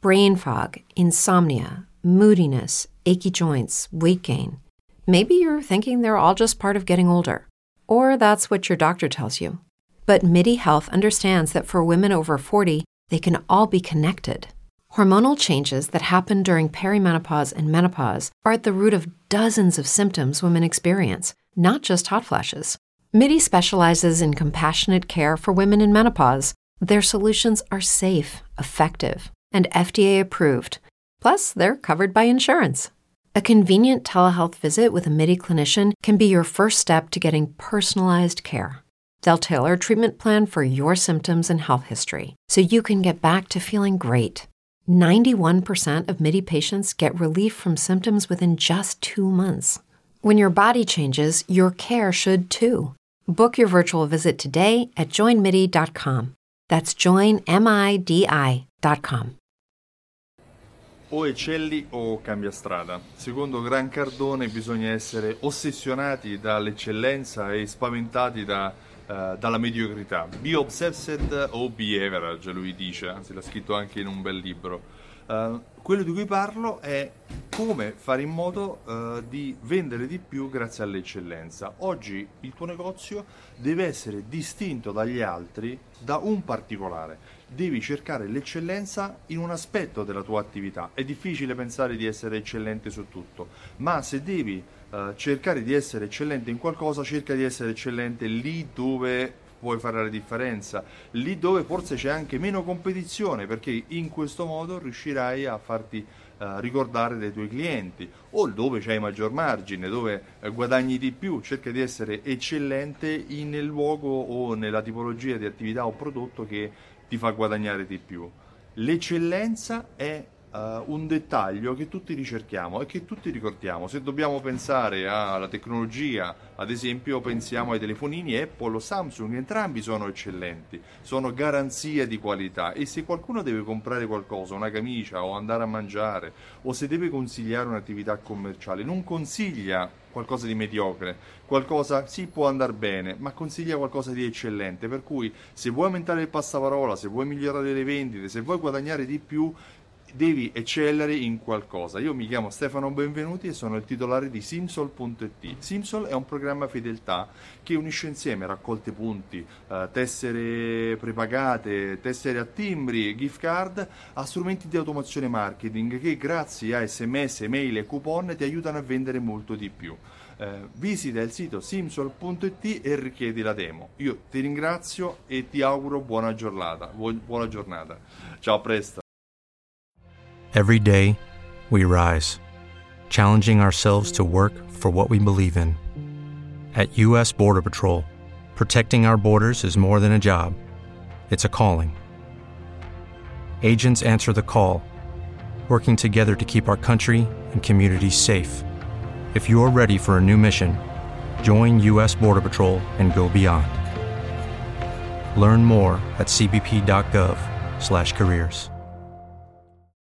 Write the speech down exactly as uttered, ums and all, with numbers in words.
brain fog, insomnia, moodiness, achy joints, weight gain. Maybe you're thinking they're all just part of getting older, or that's what your doctor tells you. But MIDI Health understands that for women over forty, they can all be connected. Hormonal changes that happen during perimenopause and menopause are at the root of dozens of symptoms women experience, not just hot flashes. MIDI specializes in compassionate care for women in menopause. Their solutions are safe, effective, and F D A approved. Plus, they're covered by insurance. A convenient telehealth visit with a MIDI clinician can be your first step to getting personalized care. They'll tailor a treatment plan for your symptoms and health history, so you can get back to feeling great. ninety-one percent of MIDI patients get relief from symptoms within just two months. When your body changes, your care should too. Book your virtual visit today at join midi dot com. That's join midi dot com. O eccelli o cambia strada. Secondo Gran Cardone bisogna essere ossessionati dall'eccellenza e spaventati da, uh, dalla mediocrità. Be obsessed o be average, lui dice, anzi l'ha scritto anche in un bel libro. Uh, quello di cui parlo è come fare in modo uh, di vendere di più grazie all'eccellenza. Oggi il tuo negozio deve essere distinto dagli altri da un particolare. Devi cercare l'eccellenza in un aspetto della tua attività. È difficile pensare di essere eccellente su tutto, ma se devi uh, cercare di essere eccellente in qualcosa, cerca di essere eccellente lì dove puoi fare la differenza, lì dove forse c'è anche meno competizione, perché in questo modo riuscirai a farti uh, ricordare dei tuoi clienti, o dove c'hai maggior margine, dove uh, guadagni di più. Cerca di essere eccellente in, nel luogo o nella tipologia di attività o prodotto che ti fa guadagnare di più. L'eccellenza è uh, un dettaglio che tutti ricerchiamo e che tutti ricordiamo. Se dobbiamo pensare alla tecnologia, ad esempio, pensiamo ai telefonini Apple o Samsung, entrambi sono eccellenti, sono garanzia di qualità, e se qualcuno deve comprare qualcosa, una camicia o andare a mangiare, o se deve consigliare un'attività commerciale, non consiglia qualcosa di mediocre, qualcosa sì può andare bene, ma consiglia qualcosa di eccellente. Per cui se vuoi aumentare il passaparola, se vuoi migliorare le vendite, se vuoi guadagnare di più, devi eccellere in qualcosa. Io mi chiamo Stefano Benvenuti e sono il titolare di Simsol punto it. Simsol è un programma fedeltà che unisce insieme raccolte punti, eh, tessere prepagate, tessere a timbri, gift card, a strumenti di automazione marketing che grazie a sms, mail e coupon ti aiutano a vendere molto di più. Eh, visita il sito simsol punto it e richiedi la demo. Io ti ringrazio e ti auguro buona giornata. Buona giornata. Ciao, a presto. Every day, we rise, challenging ourselves to work for what we believe in. At U S Border Patrol, protecting our borders is more than a job, it's a calling. Agents answer the call, working together to keep our country and communities safe. If you're ready for a new mission, join U S Border Patrol and go beyond. Learn more at c b p dot gov slash careers.